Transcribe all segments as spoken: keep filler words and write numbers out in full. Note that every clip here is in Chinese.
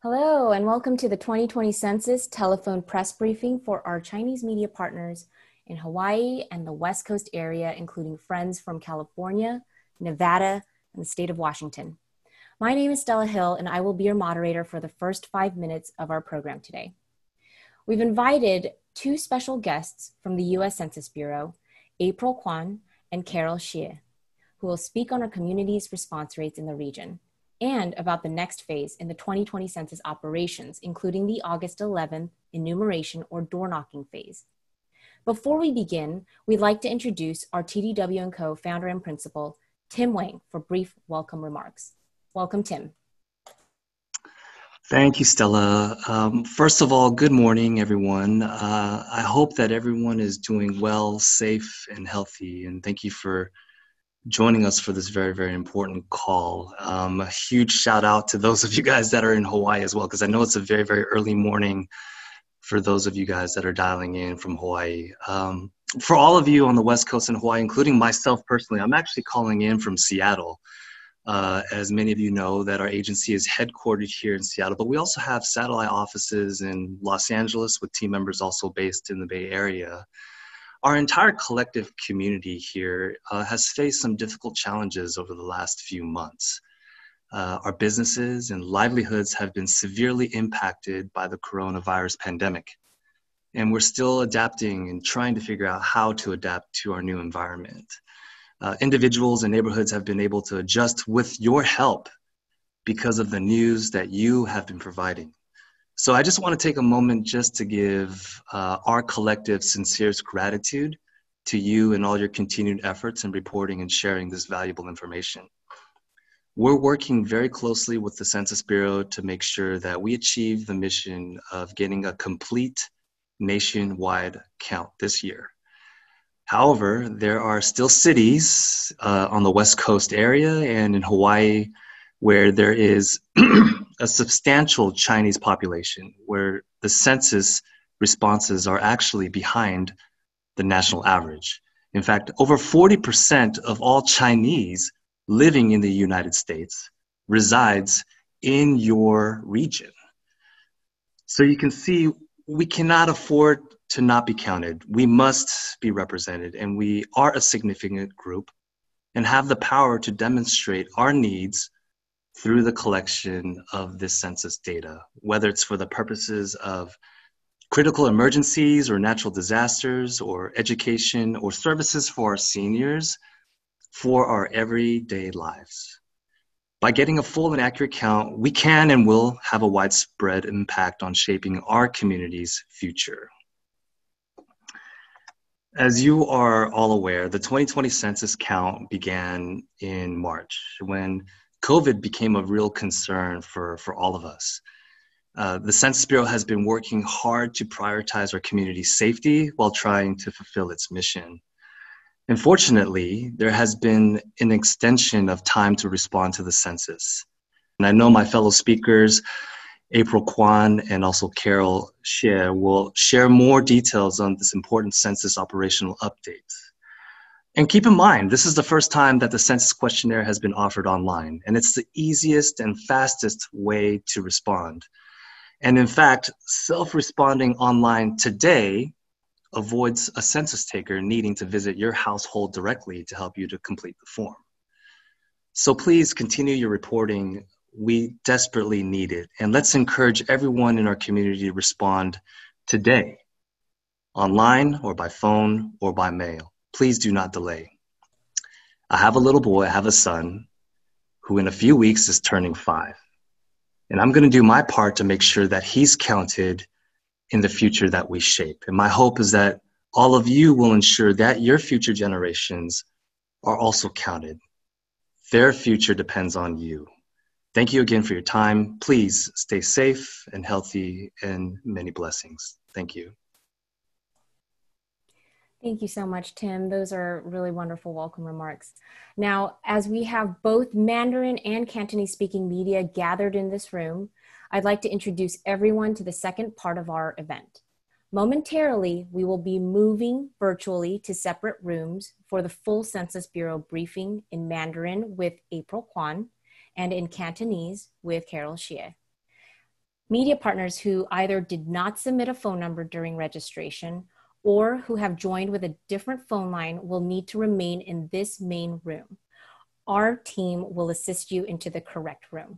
Hello, and welcome to the twenty twenty Census telephone press briefing for our Chinese media partners in Hawaii and the West Coast area, including friends from California, Nevada, and the state of Washington. My name is Stella Hill, and I will be your moderator for the first five minutes of our program today. We've invited two special guests from the U S Census Bureau, April Kwan and Carol Xie, who will speak on our community's response rates in the region and about the next phase in the twenty twenty Census operations, including the August eleventh enumeration or door knocking phase. Before we begin, we'd like to introduce our T D W and Co founder and principal, Tim Wang, for brief welcome remarks. Welcome, Tim. Thank you, Stella. Um, first of all, good morning, everyone. Uh, I hope that everyone is doing well, safe, and healthy, and thank you for joining us for this very, very important call. Um, a huge shout out to those of you guys that are in Hawaii as well, because I know it's a very, very early morning for those of you guys that are dialing in from Hawaii. Um, for all of you on the West Coast in Hawaii, including myself personally, I'm actually calling in from Seattle. Uh, as many of you know, that our agency is headquartered here in Seattle, but we also have satellite offices in Los Angeles with team members also based in the Bay Area. Our entire collective community here uh, has faced some difficult challenges over the last few months. Uh, our businesses and livelihoods have been severely impacted by the coronavirus pandemic, and we're still adapting and trying to figure out how to adapt to our new environment. Uh, individuals and neighborhoods have been able to adjust with your help because of the news that you have been providing. So I just want to take a moment just to give uh, our collective sincerest gratitude to you and all your continued efforts in reporting and sharing this valuable information. We're working very closely with the Census Bureau to make sure that we achieve the mission of getting a complete nationwide count this year. However, there are still cities uh, on the West Coast area and in Hawaii where there is a substantial Chinese population, where the census responses are actually behind the national average. In fact, over forty percent of all Chinese living in the United States resides in your region. So you can see we cannot afford to not be counted. We must be represented, and we are a significant group and have the power to demonstrate our needs through the collection of this census data, whether it's for the purposes of critical emergencies or natural disasters or education or services for our seniors for our everyday lives. By getting a full and accurate count, we can and will have a widespread impact on shaping our community's future. As you are all aware, the twenty twenty census count began in March when COVID became a real concern for, for all of us. Uh, the Census Bureau has been working hard to prioritize our community's safety while trying to fulfill its mission. Unfortunately, there has been an extension of time to respond to the census. And I know my fellow speakers, April Kwan and also Carol Xie, will share more details on this important census operational update. And keep in mind, this is the first time that the census questionnaire has been offered online, and it's the easiest and fastest way to respond. And in fact, self-responding online today avoids a census taker needing to visit your household directly to help you to complete the form. So please continue your reporting. We desperately need it. And let's encourage everyone in our community to respond today, online or by phone or by mail. Please do not delay. I have a little boy, I have a son, who in a few weeks is turning five. And I'm gonna do my part to make sure that he's counted in the future that we shape. And my hope is that all of you will ensure that your future generations are also counted. Their future depends on you. Thank you again for your time. Please stay safe and healthy, and many blessings. Thank you. Thank you so much, Tim. Those are really wonderful welcome remarks. Now, as we have both Mandarin and Cantonese speaking media gathered in this room, I'd like to introduce everyone to the second part of our event. Momentarily, we will be moving virtually to separate rooms for the full Census Bureau briefing in Mandarin with April Kwan and in Cantonese with Carol Xie. Media partners who either did not submit a phone number during registration or who have joined with a different phone line will need to remain in this main room. Our team will assist you into the correct room.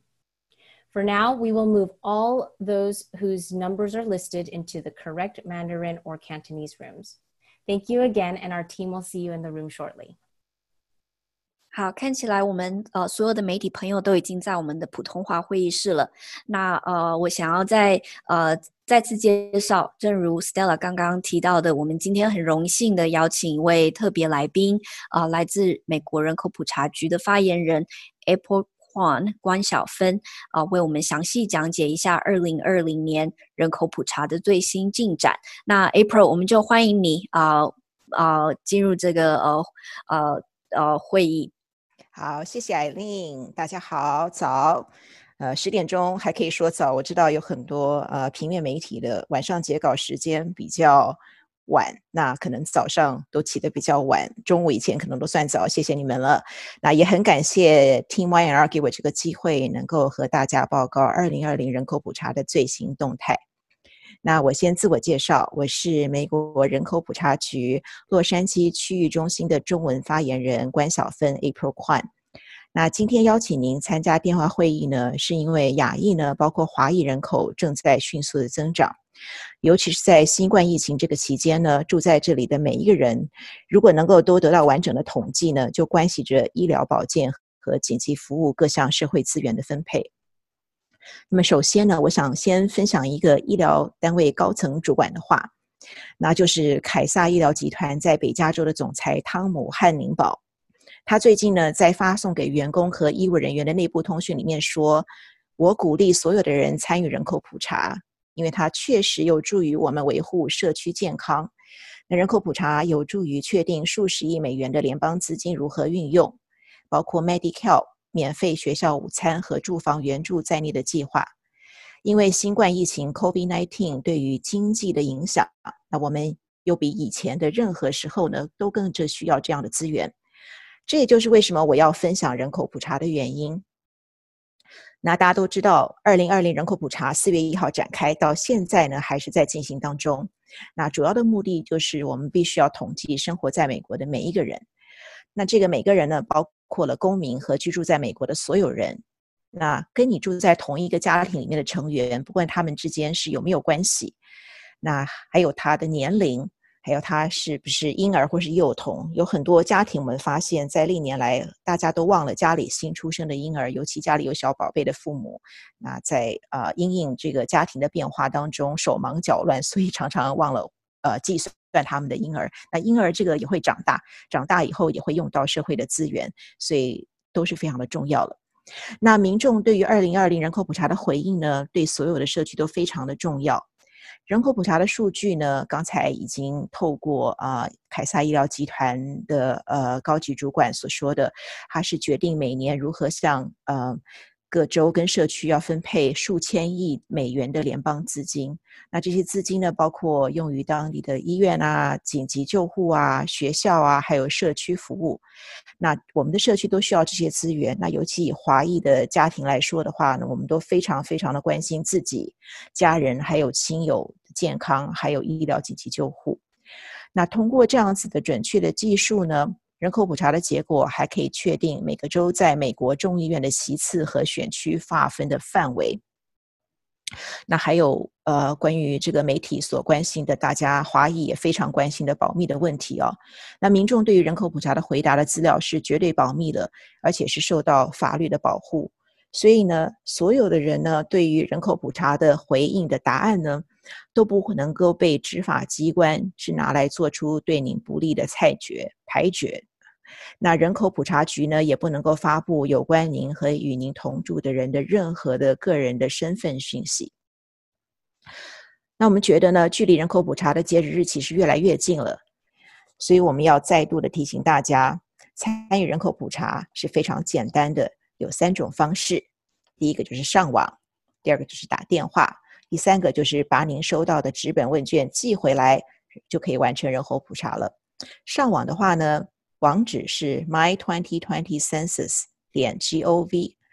For now, we will move all those whose numbers are listed into the correct Mandarin or Cantonese rooms. Thank you again, and our team will see you in the room shortly. 好，看起来我们呃所有的媒体朋友都已经在我们的普通话会议室了。那呃，我想要再呃再次介绍，正如 Stella 刚刚提到的，我们今天很荣幸的邀请一位特别来宾，啊、呃，来自美国人口普查局的发言人 April Kwan 关晓芬，啊、呃，为我们详细讲解一下二零二零年人口普查的最新进展。那 April， 我们就欢迎你啊啊、呃呃、进入这个呃呃呃会议。 好，谢谢艾琳，大家好，早，呃，十点钟还可以说早。我知道有很多呃平面媒体的晚上截稿时间比较晚，那可能早上都起得比较晚，中午以前可能都算早，谢谢你们了。那也很感谢 Team Y N R 给我这个机会，能够和大家报告二零二零人口普查的最新动态。那我先自我介绍，我是美国人口普查局洛杉矶区域中心的中文发言人关晓芬 April Kwan。那今天邀请您参加电话会议呢，是因为亚裔呢，包括华裔人口正在迅速的增长，尤其是在新冠疫情这个期间呢，住在这里的每一个人，如果能够都得到完整的统计呢，就关系着医疗保健和紧急服务各项社会资源的分配。那么首先呢，我想先分享一个医疗单位高层主管的话，那就是凯撒医疗集团在北加州的总裁汤姆汉宁堡。他最近呢，在发送给员工和医务人员的内部通讯里面说，我鼓励所有的人参与人口普查，因为它确实有助于我们维护社区健康。那人口普查有助于确定数十亿美元的联邦资金如何运用，包括 Medi-Cal 免费学校午餐和住房援助在内的计划。因为新冠疫情 COVID 十九 对于经济的影响，那我们又比以前的任何时候呢，都更着需要这样的资源。这也就是为什么我要分享人口普查的原因。那大家都知道，二零二零人口普查四月一号展开，到现在呢还是在进行当中。那主要的目的就是我们必须要统计生活在美国的每一个人。那这个每个人呢，包括了公民和居住在美国的所有人。那跟你住在同一个家庭里面的成员，不管他们之间是有没有关系，那还有他的年龄，还有他是不是婴儿或是幼童。有很多家庭我们发现在历年来大家都忘了家里新出生的婴儿，尤其家里有小宝贝的父母，那在呃因应这个家庭的变化当中手忙脚乱，所以常常忘了呃计算他们的婴儿。那婴儿这个也会长大，长大以后也会用到社会的资源，所以都是非常的重要了。那民众对于二零二零人口普查的回应呢，对所有的社区都非常的重要。人口普查的数据呢，刚才已经透过啊、呃、凯撒医疗集团的呃高级主管所说的，他是决定每年如何向呃各州跟社区要分配数千亿美元的联邦资金。那这些资金呢，包括用于当地的医院啊、紧急救护啊、学校啊，还有社区服务。那我们的社区都需要这些资源。那尤其以华裔的家庭来说的话呢，我们都非常非常的关心自己、家人还有亲友的健康，还有医疗紧急救护。那通过这样子的准确的技术呢，人口普查的结果还可以确定每个州在美国众议院的席次和选区划分的范围。那还有呃，关于这个媒体所关心的，大家华裔也非常关心的保密的问题哦。那民众对于人口普查的回答的资料是绝对保密的，而且是受到法律的保护。所以呢，所有的人呢，对于人口普查的回应的答案呢，都不能够被执法机关是拿来做出对您不利的裁决、排决。那人口普查局呢，也不能够发布有关您和与您同住的人的任何的个人的身份讯息。那我们觉得呢，距离人口普查的截止日期是越来越近了，所以我们要再度的提醒大家，参与人口普查是非常简单的，有三种方式。第一个就是上网，第二个就是打电话，第三个就是把您收到的纸本问卷寄回来，就可以完成人口普查了。上网的话呢，网址是 my twenty twenty census 点 gov。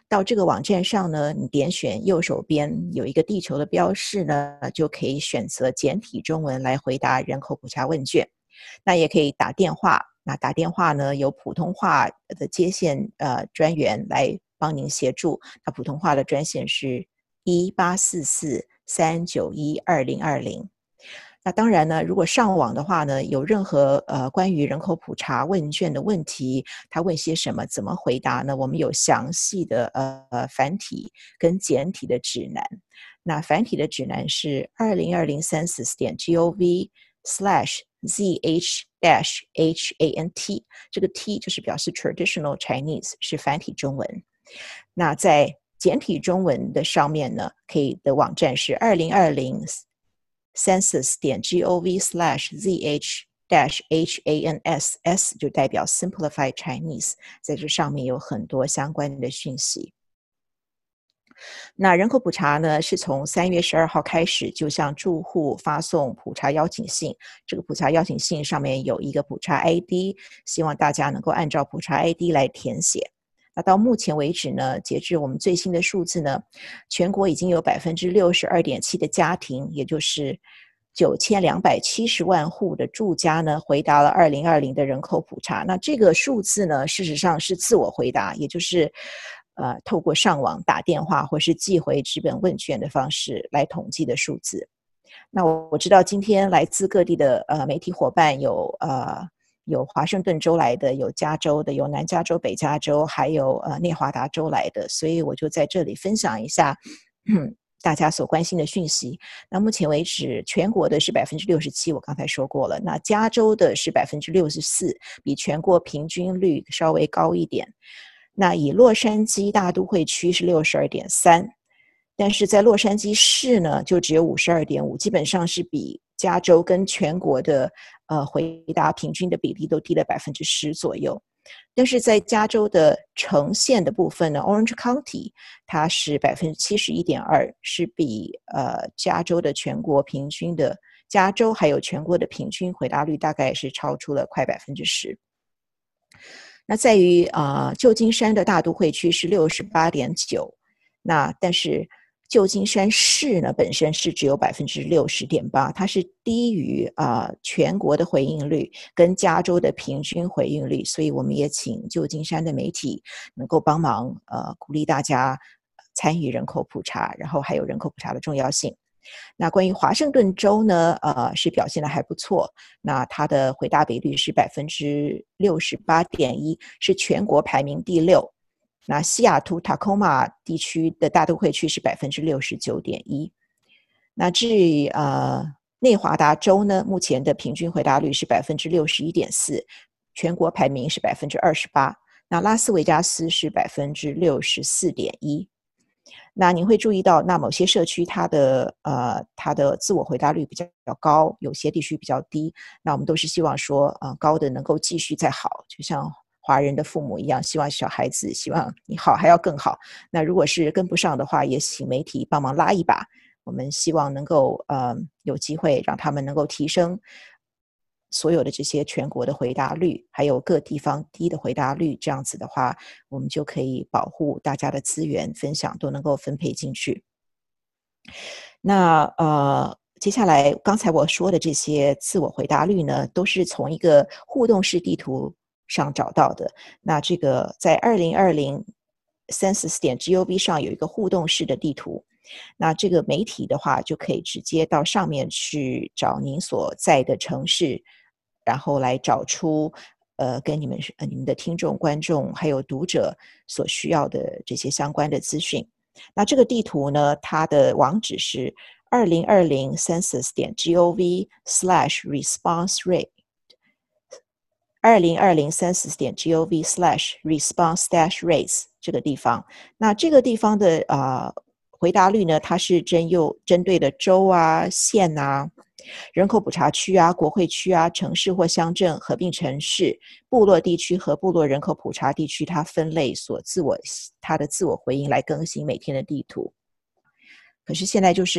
到这个网站上呢，你点选右手边有一个地球的标示呢，就可以选择简体中文来回答人口普查问卷。那也可以打电话，那打电话呢有普通话的接线呃专员来帮您协助。那普通话的专线是一八四四三九一二零二零。那当然呢，如果上网的话呢，有任何呃关于人口普查问卷的问题，他问些什么，怎么回答呢？我们有详细的呃繁体跟简体的指南。那繁体的指南是二零二零 census 点 gov slash zh dash hant， 这个 t 就是表示 traditional Chinese， 是繁体中文。那在简体中文的上面呢，可以的网站是二零二零 census 点 gov slash zh dash hans， s 就代表 simplified Chinese， 在这上面有很多相关的讯息。那人口普查呢，是从三月十二号开始就向住户发送普查邀请信，这个普查邀请信上面有一个普查 I D， 希望大家能够按照普查 I D 来填写。那到目前为止呢，截至我们最新的数字呢，全国已经有 百分之六十二点七 的家庭，也就是九千两百七十万户的住家呢，回答了二零二零的人口普查。那这个数字呢，事实上是自我回答，也就是呃，透过上网打电话或是寄回纸本问卷的方式来统计的数字。那我我知道今天来自各地的呃媒体伙伴有呃有华盛顿州来的，有加州的，有南加州、北加州，还有呃内华达州来的，所以我就在这里分享一下嗯大家所关心的讯息。那目前为止，全国的是 百分之六十七， 我刚才说过了。那加州的是 百分之六十四， 比全国平均率稍微高一点。那以洛杉矶大都会区是 六十二点三， 但是在洛杉矶市呢就只有 五十二点五， 基本上是比加州跟全国的呃回答平均的比例都低了 百分之十 左右。但是在加州的城县的部分呢， Orange County 它是 百分之七十一点二， 是比呃加州的全国平均的加州还有全国的平均回答率大概是超出了快 百分之十。那在于呃旧金山的大都会区是 六十八点九， 那但是旧金山市呢本身是只有 百分之六十点八， 它是低于呃全国的回应率跟加州的平均回应率，所以我们也请旧金山的媒体能够帮忙呃鼓励大家参与人口普查，然后还有人口普查的重要性。那关于华盛顿州呢，呃，是表现得还不错。那它的回答比率是 百分之六十八点一， 是全国排名第六。那西雅图 Tacoma 地区的大都会区是 百分之六十九点一。那至于呃内华达州呢，目前的平均回答率是 百分之六十一点四， 全国排名是 百分之二十八。那拉斯维加斯是 百分之六十四点一。那您会注意到，那某些社区它的呃它的自我回答率比较高，有些地区比较低。那我们都是希望说，呃高的能够继续再好，就像华人的父母一样，希望小孩子希望你好还要更好。那如果是跟不上的话，也请媒体帮忙拉一把。我们希望能够呃有机会让他们能够提升所有的这些全国的回答率，还有各地方低的回答率，这样子的话，我们就可以保护大家的资源分享都能够分配进去。那呃，接下来刚才我说的这些自我回答率呢，都是从一个互动式地图上找到的。那这个在二零二零 census 点 gov 上有一个互动式的地图。那这个媒体的话，就可以直接到上面去找您所在的城市，然后来找出呃跟你们呃你们的听众、观众还有读者所需要的这些相关的资讯。那这个地图呢，它的网址是二零二零 census 点 gov slash response rate， 二零二零 census 点 gov slash response dash rates 这个地方。那这个地方的呃回答率呢，它是针有针对的州啊、县啊、人口普查区啊、国会区啊、城市或乡镇、合并城市、部落地区和部落人口普查地区，它分类所自我它的自我回应来更新每天的地图。可是现在就是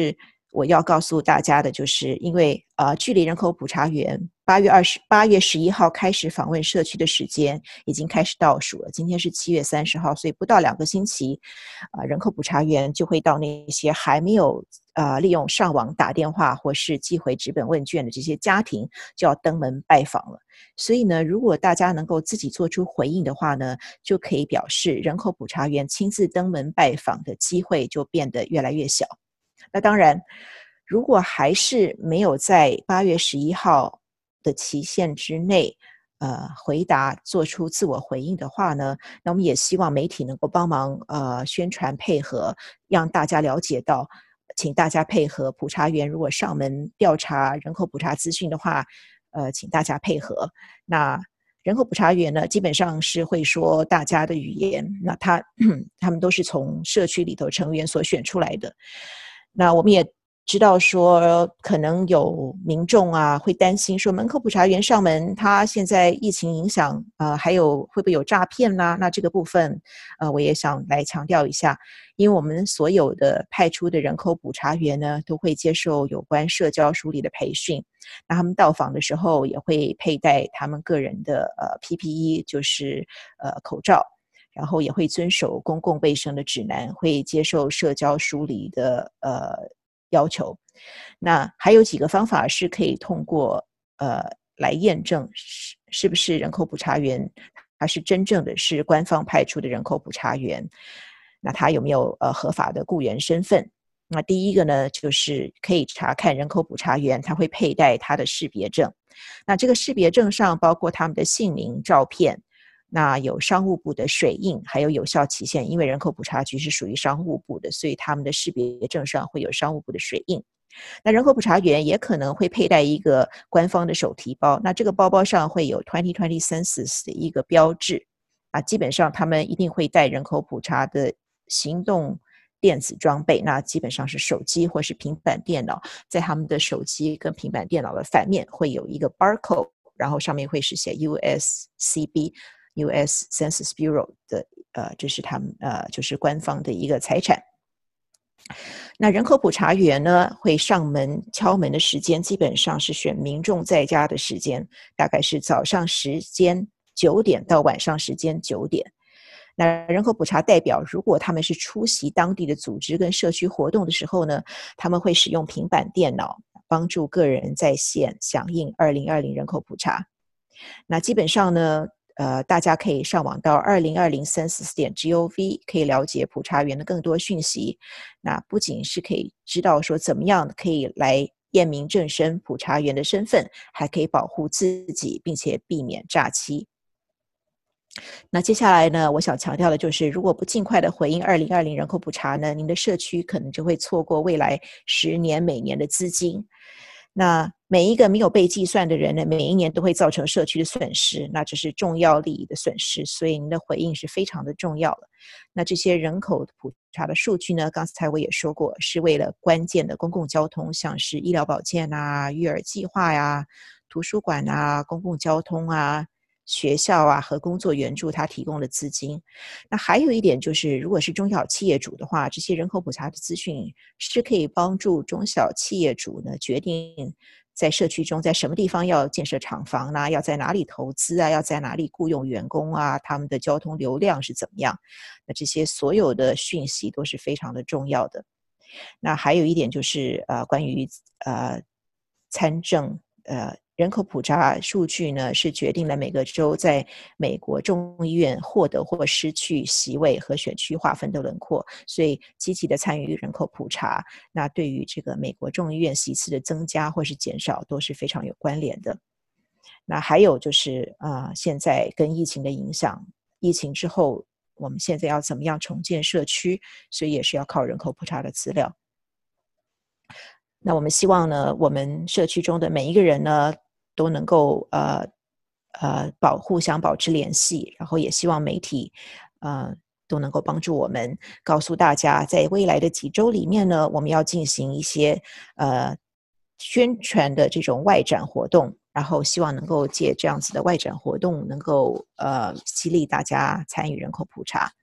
我要告诉大家的就是，因为呃，距离人口普查员八月二十八月十一号开始访问社区的时间已经开始倒数了。今天是七月三十号，所以不到两个星期，呃，人口普查员就会到那些还没有呃利用上网打电话或是寄回纸本问卷的这些家庭，就要登门拜访了。所以呢，如果大家能够自己做出回应的话呢，就可以表示人口普查员亲自登门拜访的机会就变得越来越小。那当然，如果还是没有在八月十一号的期限之内，呃，回答做出自我回应的话呢，那我们也希望媒体能够帮忙呃宣传配合，让大家了解到，请大家配合普查员如果上门调查人口普查资讯的话，呃，请大家配合。那人口普查员呢，基本上是会说大家的语言，那他他们都是从社区里头成员所选出来的。那我们也知道说，可能有民众啊会担心说，门口普查员上门，他现在疫情影响，呃，还有会不会有诈骗啦？那这个部分，呃，我也想来强调一下，因为我们所有的派出的人口普查员呢，都会接受有关社交梳理的培训。那他们到访的时候，也会佩戴他们个人的呃 P P E， 就是呃口罩。然后也会遵守公共卫生的指南，会接受社交疏离的呃要求。那还有几个方法是可以通过呃来验证是是不是人口普查员，他是真正的是官方派出的人口普查员，那他有没有呃合法的雇员身份？那第一个呢，就是可以查看人口普查员他会佩戴他的识别证，那这个识别证上包括他们的姓名、照片。那有商务部的水印，还有有效期限，因为人口普查局是属于商务部的，所以他们的识别证上会有商务部的水印。那人口普查员也可能会佩戴一个官方的手提包，那这个包包上会有二零二零 Census 的一个标志啊，基本上他们一定会带人口普查的行动电子装备，那基本上是手机或是平板电脑，在他们的手机跟平板电脑的反面会有一个 barcode， 然后上面会是写 U S C B。U S Census Bureau 的呃，这是他们呃，就是官方的一个财产。那人口普查员呢，会上门敲门的时间，基本上是选民众在家的时间，大概是早上时间九点到晚上时间九点。那人口普查代表，如果他们是出席当地的组织跟社区活动的时候呢，他们会使用平板电脑帮助个人在线响应二零二零人口普查。那基本上呢。呃，大家可以上网到二零二零 census 点 gov 可以了解普查员的更多讯息。那不仅是可以知道说怎么样可以来验明正身普查员的身份，还可以保护自己，并且避免诈欺。那接下来呢，我想强调的就是，如果不尽快的回应二零二零人口普查呢，您的社区可能就会错过未来十年每年的资金。那每一个没有被计算的人呢，每一年都会造成社区的损失，那这是重要利益的损失，所以您的回应是非常的重要的。那这些人口普查的数据呢，刚才我也说过，是为了关键的公共交通，像是医疗保健啊、育儿计划呀、图书馆啊、公共交通啊、学校啊和工作援助它提供的资金。那还有一点就是，如果是中小企业主的话，这些人口普查的资讯是可以帮助中小企业主呢决定在社区中在什么地方要建设厂房呢，要在哪里投资啊，要在哪里雇佣员工啊，他们的交通流量是怎么样。那这些所有的讯息都是非常的重要的。那还有一点就是呃，关于呃参政呃人口普查数据呢，是决定了每个州在美国众议院获得或失去席位和选区划分的轮廓，所以积极的参与人口普查，那对于这个美国众议院席次的增加或是减少都是非常有关联的。那还有就是呃，现在跟疫情的影响，疫情之后我们现在要怎么样重建社区，所以也是要靠人口普查的资料。那我们希望呢，我们社区中的每一个人呢，都能够呃呃保互相保持联系，然后也希望媒体呃都能够帮助我们，告诉大家，在未来的几周里面呢，我们要进行一些呃宣传的这种外展活动，然后希望能够借这样子的外展活动，能够呃激励大家参与人口普查。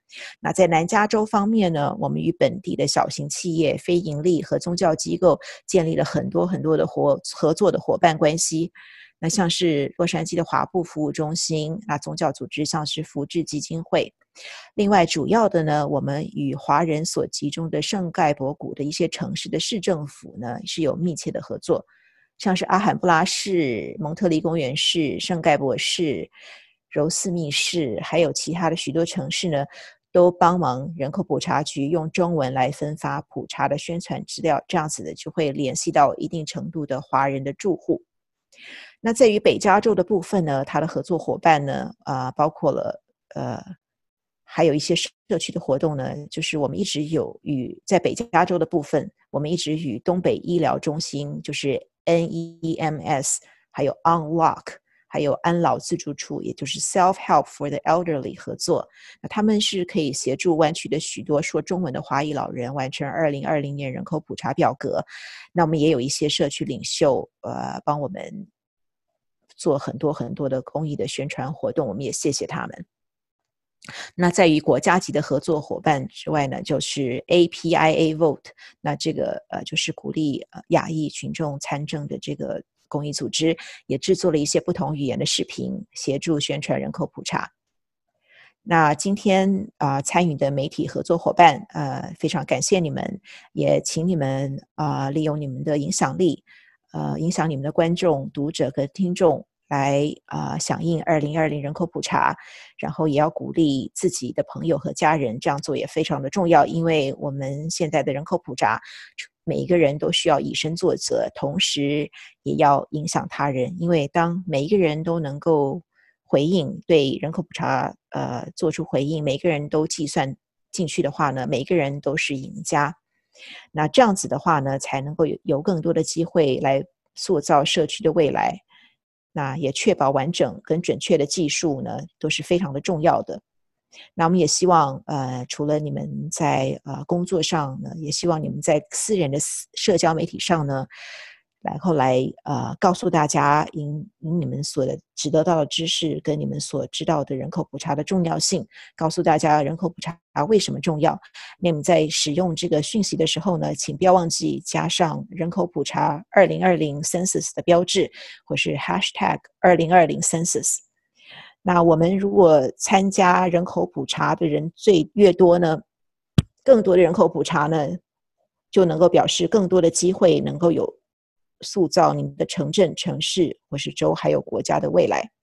那在南加州方面呢，我们与本地的小型企业、非营利和宗教机构建立了很多很多的合合作的伙伴关系。那像是洛杉矶的华埠服务中心，那宗教组织像是福智基金会。另外主要的呢，我们与华人所集中的圣盖博谷的一些城市的市政府呢是有密切的合作，像是阿罕布拉市、蒙特利公园市、圣盖博市、柔斯密市，还有其他的许多城市呢，都帮忙人口普查局用中文来分发普查的宣传资料，这样子的就会联系到一定程度的华人的住户。那在于北加州的部分呢，它的合作伙伴呢，呃、包括了呃，还有一些社区的活动呢，就是我们一直有与在北加州的部分，我们一直与东北医疗中心，就是 N E M S， 还有 Unlock， 还有安老自助处，也就是 Self-Help for the Elderly 合作。那他们是可以协助湾区的许多说中文的华裔老人完成二零二零年人口普查表格。那我们也有一些社区领袖，呃，帮我们做很多很多的公益的宣传活动，我们也谢谢他们。那在于国家级的合作伙伴之外呢，就是 A P I A Vote， 那这个呃就是鼓励呃亚裔群众参政的这个公益组织，也制作了一些不同语言的视频，协助宣传人口普查。那今天啊、呃、参与的媒体合作伙伴，呃，非常感谢你们，也请你们啊、呃、利用你们的影响力，呃，影响你们的观众、读者和听众来啊、呃、响应二零二零人口普查，然后也要鼓励自己的朋友和家人这样做也非常的重要，因为我们现在的人口普查，每一个人都需要以身作则，同时也要影响他人，因为当每一个人都能够回应，对人口普查呃做出回应，每个人都计算进去的话呢，每个人都是赢家。那这样子的话呢，才能够 有, 有更多的机会来塑造社区的未来。那也确保完整跟准确的技术呢，都是非常的重要的。那我们也希望，呃，除了你们在呃工作上呢，也希望你们在私人的社交媒体上呢，然后来呃告诉大家，以你们所知得到的知识跟你们所知道的人口普查的重要性，告诉大家人口普查为什么重要。那么在使用这个讯息的时候呢，请不要忘记加上人口普查二零二零 census 的标志，或是 hashtag 二零二零 census。那我们如果参加人口普查的人最越多呢，更多的人口普查呢，就能够表示更多的机会能够有塑造你们的城镇、城市或是州还有国家的未来。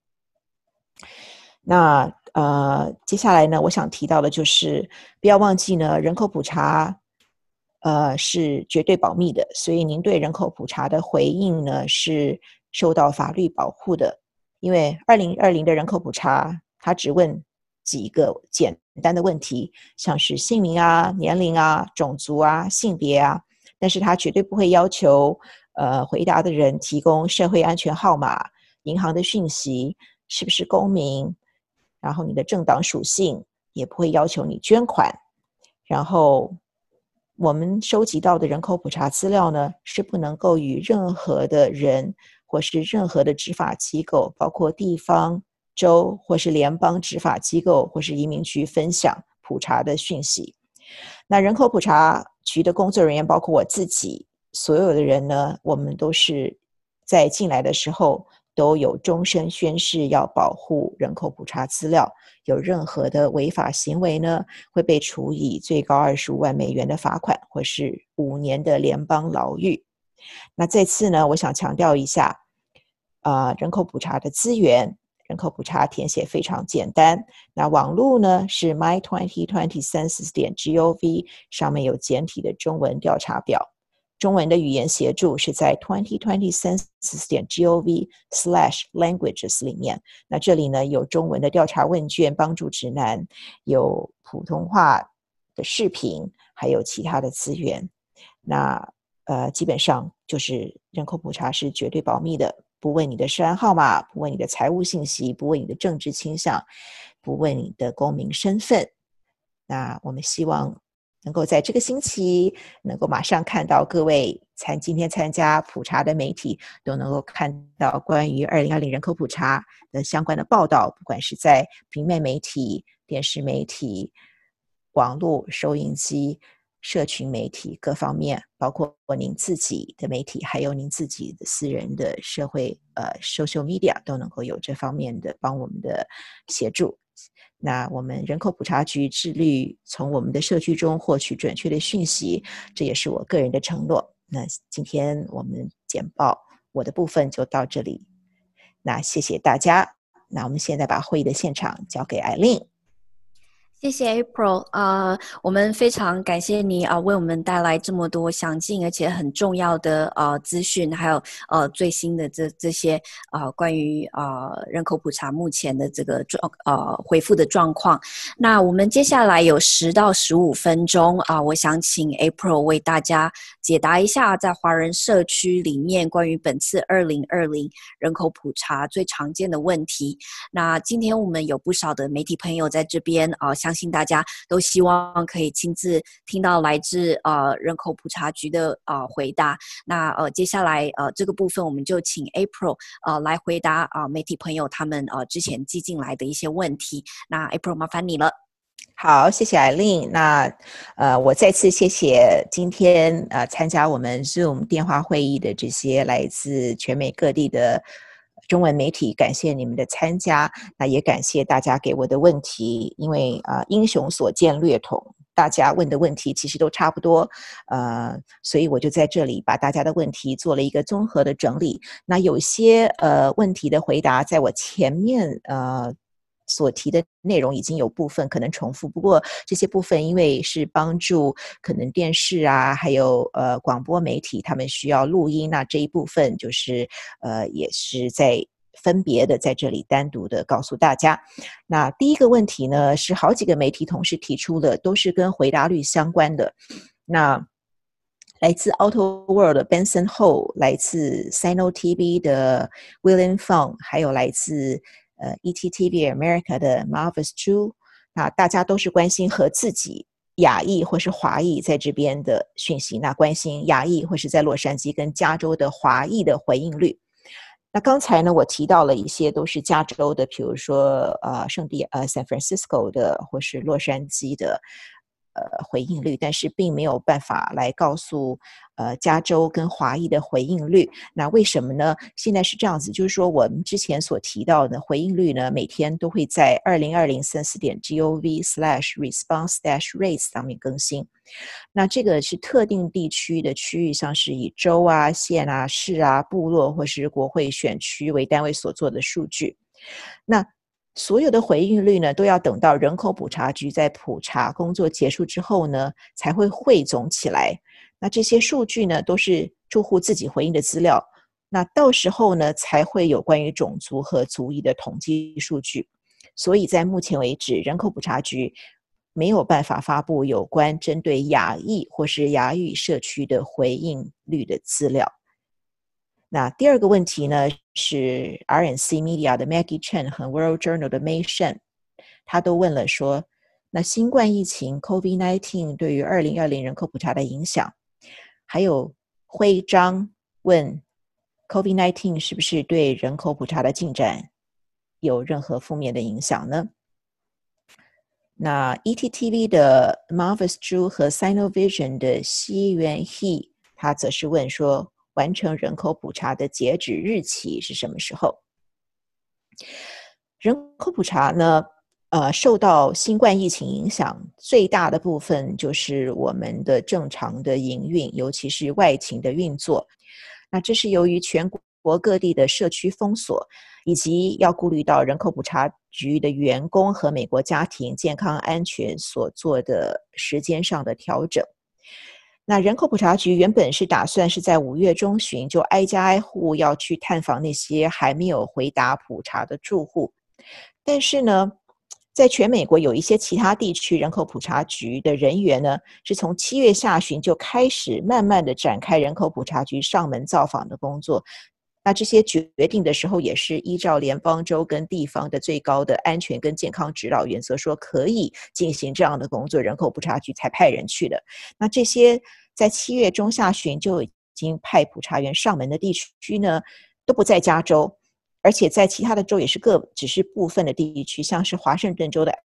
那呃，接下来呢，我想提到的就是不要忘记呢，人口普查呃是绝对保密的，所以您对人口普查的回应呢是受到法律保护的。因为二零二零的人口普查，它只问几个简单的问题，像是姓名啊、年龄啊、种族啊、性别啊，但是它绝对不会要求呃回答的人提供社会安全号码、银行的讯息、是不是公民，然后你的政党属性，也不会要求你捐款。然后我们收集到的人口普查资料呢，是不能够与任何的人或是任何的执法机构，包括地方、州或是联邦执法机构或是移民局分享普查的讯息。那人口普查局的工作人员，包括我自己，所有的人呢，我们都是在进来的时候都有终身宣誓要保护人口普查资料，有任何的违法行为呢，会被处以最高二十五万美元的罚款，或是五年的联邦牢狱。那这次呢，我想强调一下，呃，人口普查的资源，人口普查填写非常简单。那网路呢是 my twenty twenty census 点 gov， 上面有简体的中文调查表。中文的语言协助是在 twenty twenty census 点 gov slash languages 里面。那这里呢有中文的调查问卷、帮助指南，有普通话的视频，还有其他的资源。那呃，基本上就是人口普查是绝对保密的，不问你的涉案号码，不问你的财务信息，不问你的政治倾向，不问你的公民身份。那我们希望能够在这个星期能够马上看到各位参今天参加普查的媒体都能够看到关于二零二零人口普查的相关的报道，不管是在平面媒体、电视媒体、 网络、收音机、社群媒体各方面，包括您自己的媒体，还有您自己的私人的社会呃 social media 都能够有这方面的帮我们的协助。那我们人口普查局致力从我们的社区中获取准确的讯息，这也是我个人的承诺。那今天我们简报我的部分就到这里，那谢谢大家。那我们现在把会议的现场交给艾琳。 谢谢 April， 呃，我们非常感谢你啊、呃，为我们带来这么多详尽而且很重要的呃资讯，还有呃最新的这这些呃关于呃人口普查目前的这个状呃回复的状况。那我们接下来有十到十五分钟啊、呃，我想请 April 为大家解答一下在华人社区里面关于本次二零二零人口普查最常见的问题。那今天我们有不少的媒体朋友在这边啊、呃，相信大家都希望可以亲自听到来自呃人口普查局的呃回答。那呃接下来呃这个部分我们就请 April 呃来回答啊、呃、媒体朋友他们呃之前寄进来的一些问题。那 April 麻烦你了。 好，谢谢艾琳。那呃，我再次谢谢今天呃参加我们 Zoom 电话会议的这些来自全美各地的中文媒体，感谢你们的参加。那也感谢大家给我的问题，因为呃英雄所见略同，大家问的问题其实都差不多，呃，所以我就在这里把大家的问题做了一个综合的整理。那有些呃问题的回答，在我前面呃。所提的内容已经有部分可能重复，不过这些部分因为是帮助可能电视啊，还有呃广播媒体他们需要录音，那这一部分就是呃也是在分别的在这里单独的告诉大家。那第一个问题呢，是好几个媒体同时提出的，都是跟回答率相关的。那来自 Auto World 的 Benson Ho， 来自 Sino T V 的 William Fong， 还有来自呃 E T T V America 的 Marvis Zhu， 那大家都是关心和自己亚裔或是华裔在这边的讯息，那关心亚裔或是在洛杉矶跟加州的华裔的回应率。那刚才呢，我提到了一些都是加州的，比如说呃圣地呃 San Francisco 的或是洛杉矶的呃回应率，但是并没有办法来告诉呃加州跟华裔的回应率。那为什么呢？现在是这样子，就是说我们之前所提到的回应率呢，每天都会在二零二零三四点 gov slash response dash rates 上面更新。那这个是特定地区的区域，像是以州啊、县啊、市啊、部落或是国会选区为单位所做的数据。那所有的回应率呢，都要等到人口普查局在普查工作结束之后呢，才会汇总起来。那这些数据呢，都是住户自己回应的资料。那到时候呢，才会有关于种族和族裔的统计数据。所以在目前为止，人口普查局没有办法发布有关针对亚裔或是亚裔社区的回应率的资料。那第二个问题呢，是 R N C Media 的 Maggie Chen 和 World Journal 的 Mei Shen， 他都问了说，那新冠疫情 COVID 十九 对于二零二零人口普查的影响，还有徽章问 COVID 十九 是不是对人口普查的进展有任何负面的影响呢？那 E T T V 的 Marvis Zhu 和 Sinovision 的西元 He， 他则是问说，完成人口普查的截止日期是什么时候？人口普查呢，呃，受到新冠疫情影响，最大的部分就是我们的正常的营运，尤其是外勤的运作。那这是由于全国各地的社区封锁，以及要顾虑到人口普查局的员工和美国家庭健康安全所做的时间上的调整。那人口普查局原本是打算是在五月中旬就挨家挨户要去探访那些还没有回答普查的住户，但是呢，在全美国有一些其他地区，人口普查局的人员呢，是从七月下旬就开始慢慢的展开人口普查局上门造访的工作。那这些决定的时候，也是依照联邦州跟地方的最高的安全跟健康指导原则，说可以进行这样的工作，人口普查局才派人去的。那这些在七月中下旬就已经派普查员上门的地区呢，都不在加州，而且在其他的州也是各只是部分的地区，像是华盛顿州的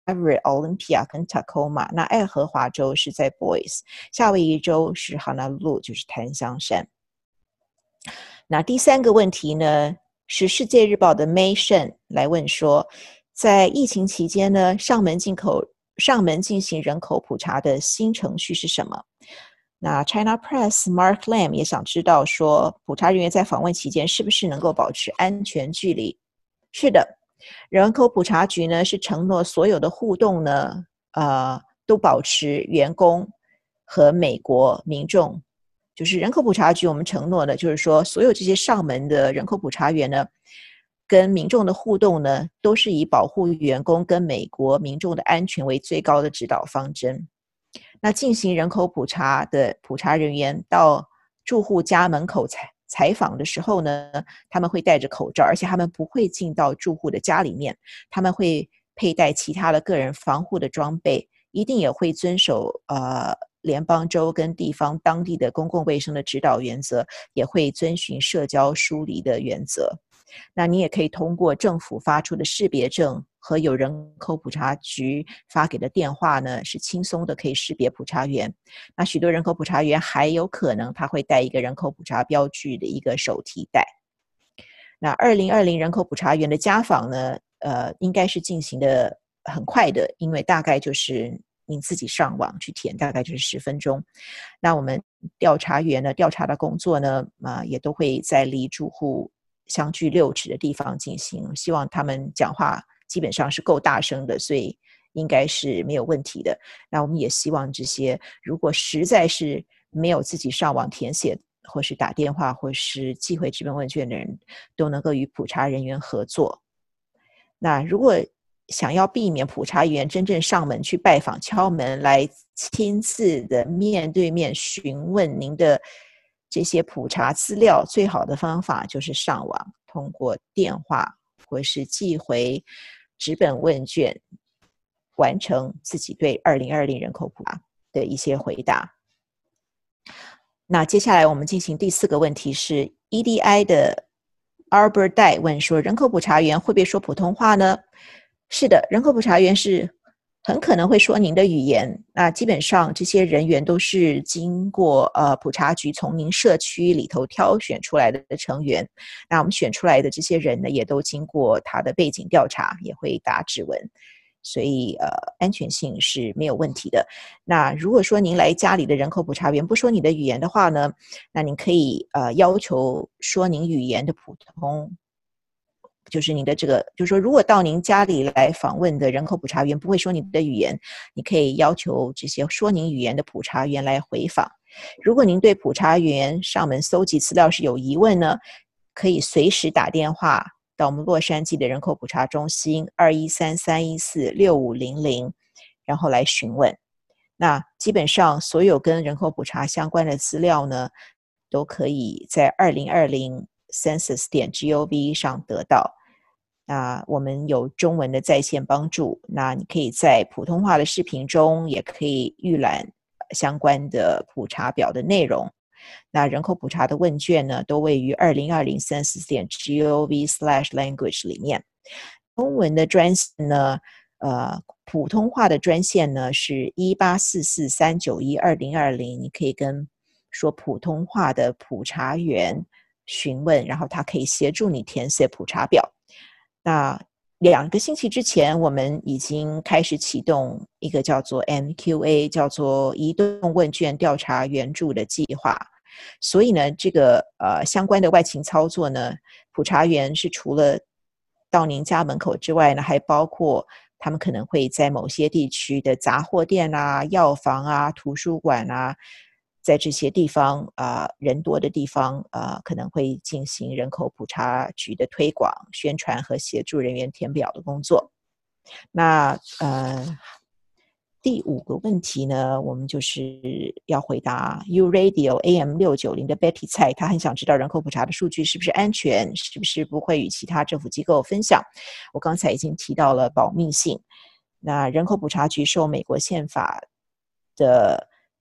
Everett、Olympia 跟 Tacoma。那爱荷华州是在 Boise， 夏威夷州是 Honolulu， 就是檀香山。那第三个问题呢，是世界日报的 May Shen 来问说，在疫情期间呢，上门进口上门进行人口普查的新程序是什么？那 China Press Mark Lam 也想知道说，普查人员在访问期间是不是能够保持安全距离？是的，人口普查局呢是承诺所有的互动呢，呃，都保持员工和美国民众，就是人口普查局我们承诺的，就是说所有这些上门的人口普查员呢，跟民众的互动呢，都是以保护员工跟美国民众的安全为最高的指导方针。那进行人口普查的普查人员到住户家门口采采访的时候呢，他们会戴着口罩，而且他们不会进到住户的家里面，他们会佩戴其他的个人防护的装备，一定也会遵守呃联邦州跟地方当地的公共卫生的指导原则，也会遵循社交疏离的原则。那你也可以通过政府发出的识别证和有人口普查局发给的电话呢，是轻松的可以识别普查员。那许多人口普查员还有可能他会带一个人口普查标具的一个手提袋。那二零二零人口普查员的家访呢，呃，应该是进行的很快的，因为大概就是您自己上网去填，大概就是十分钟。那我们调查员呢，调查的工作呢，啊、呃，也都会在离住户相距六尺的地方进行，希望他们讲话基本上是够大声的，所以应该是没有问题的。那我们也希望这些如果实在是没有自己上网填写或是打电话或是寄回纸本问卷的人，都能够与普查人员合作。那如果想要避免普查员真正上门去拜访敲门来亲自的面对面询问您的这些普查资料，最好的方法就是上网，通过电话或是寄回纸本问卷，完成自己对二零二零人口普查的一些回答。那接下来我们进行第四个问题是 E D I 的 Arbor Dai 问说，人口普查员会不会说普通话呢？是的，人口普查员是很可能会说您的语言。那基本上这些人员都是经过呃普查局从您社区里头挑选出来的成员。那我们选出来的这些人呢，也都经过他的背景调查，也会打指纹，所以呃安全性是没有问题的。那如果说您来家里的人口普查员不说你的语言的话呢，那您可以呃要求说您语言的普通。就是你的这个，就是说，如果到您家里来访问的人口普查员不会说你的语言，你可以要求这些说您语言的普查员来回访。如果您对普查员上门搜集资料是有疑问呢，可以随时打电话到我们洛杉矶的人口普查中心二一三三一四六五零零，然后来询问。那基本上所有跟人口普查相关的资料呢，都可以在二零二零 census 点 gov 上得到。那我们有中文的在线帮助，那你可以在普通话的视频中也可以预览相关的普查表的内容。那人口普查的问卷呢，都位于二零二零 census 点 gov slash language 里面。中文的专线呢，呃，普通话的专线呢是一八四四三九一二零二零，你可以跟说普通话的普查员询问，然后他可以协助你填写普查表。那两个星期之前，我们已经开始启动一个叫做 M Q A， 叫做移动问卷调查援助的计划。所以呢，这个呃相关的外勤操作呢，普查员是除了到您家门口之外呢，还包括他们可能会在某些地区的杂货店啊、药房啊、图书馆啊，在这些地方啊、呃、人多的地方啊、呃，可能会进行人口普查局的推广、宣传和协助人员填表的工作。那呃，第五个问题呢，我们就是要回答 U Radio A M 六九零的 Betty 蔡，她很想知道人口普查的数据是不是安全，是不是不会与其他政府机构分享。我刚才已经提到了保密性。那人口普查局受美国宪法的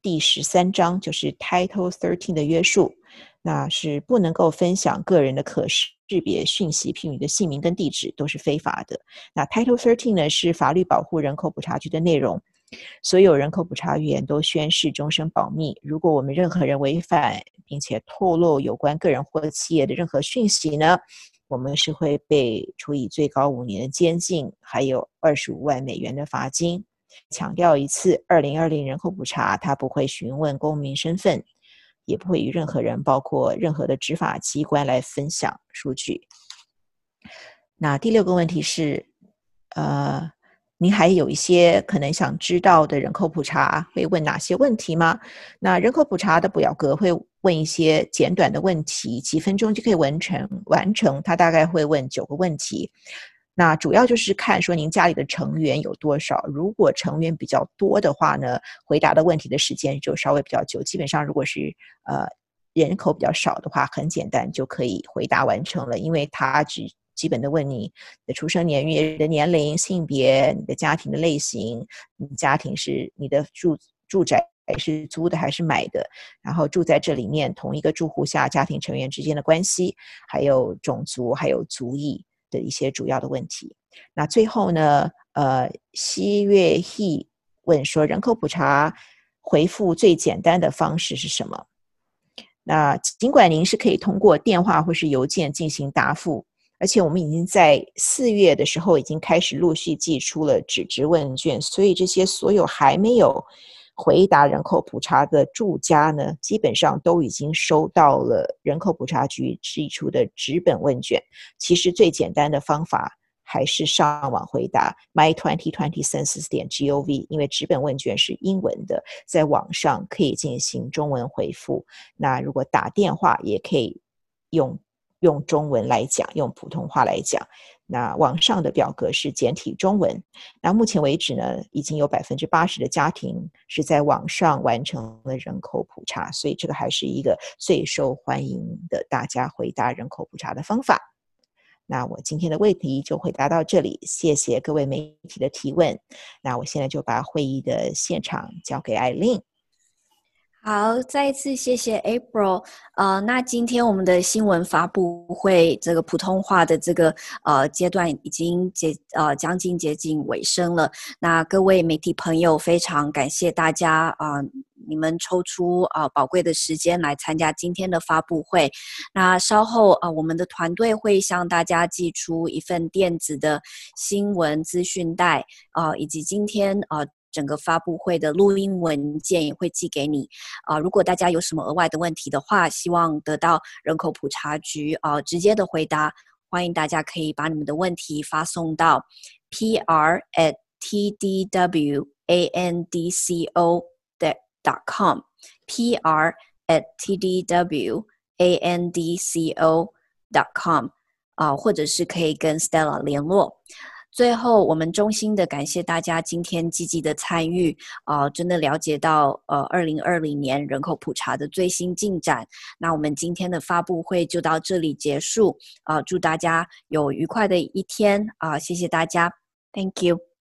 第十三章，就是 Title 十三的约束，那是不能够分享个人的可识别讯息，譬如你的姓名跟地址都是非法的。那 Title 十三呢是法律保护人口普查局的内容，所有人口普查员都宣誓终身保密。如果我们任何人违反并且透露有关个人或企业的任何讯息呢，我们是会被处以最高五年的监禁，还有二十五万美元的罚金。强调一次，二零二零人口普查它不会询问公民身份，也不会与任何人包括任何的执法机关来分享数据。那第六个问题是呃，您还有一些可能想知道的人口普查会问哪些问题吗？那人口普查的表格会问一些简短的问题，几分钟就可以完成完成它大概会问九个问题。那主要就是看说您家里的成员有多少，如果成员比较多的话呢，回答的问题的时间就稍微比较久。基本上如果是呃人口比较少的话，很简单就可以回答完成了，因为它只基本的问你的出生年月、你的年龄、性别、你的家庭的类型，你家庭是你的住住宅是租的还是买的，然后住在这里面同一个住户下家庭成员之间的关系，还有种族，还有族裔的一些主要的问题。那最后呢，呃，西月希问说，人口普查回复最简单的方式是什么？那尽管您是可以通过电话或是邮件进行答复，而且我们已经在四月的时候已经开始陆续寄出了纸质问卷，所以这些所有还没有回答人口普查的住家呢，基本上都已经收到了人口普查局寄出的纸本问卷。其实最简单的方法还是上网回答 my twenty twenty census 点 gov， 因为纸本问卷是英文的，在网上可以进行中文回复。那如果打电话也可以用用中文来讲，用普通话来讲。那网上的表格是简体中文。那目前为止呢，已经有 百分之八十 的家庭是在网上完成了人口普查，所以这个还是一个最受欢迎的大家回答人口普查的方法。那我今天的问题就回答到这里，谢谢各位媒体的提问。那我现在就把会议的现场交给艾琳。 好，再一次谢谢 April。呃，那今天我们的新闻发布会这个普通话的这个呃阶段已经接呃将近接近尾声了。那各位媒体朋友，非常感谢大家啊、呃，你们抽出啊、呃、宝贵的时间来参加今天的发布会。那稍后啊、呃，我们的团队会向大家寄出一份电子的新闻资讯袋啊、呃，以及今天啊。呃整个发布会的录音文件也会寄给你啊、呃。如果大家有什么额外的问题的话，希望得到人口普查局啊、呃、直接的回答，欢迎大家可以把你们的问题发送到 p r at t d w a n d c o dot com p r at t d w a n d c o dot com 啊、呃，或者是可以跟 Stella 联络。最后，我们衷心的感谢大家今天积极的参与，呃，真的了解到呃二零二零年人口普查的最新进展。那我们今天的发布会就到这里结束，呃，祝大家有愉快的一天啊、呃，谢谢大家 ，Thank you。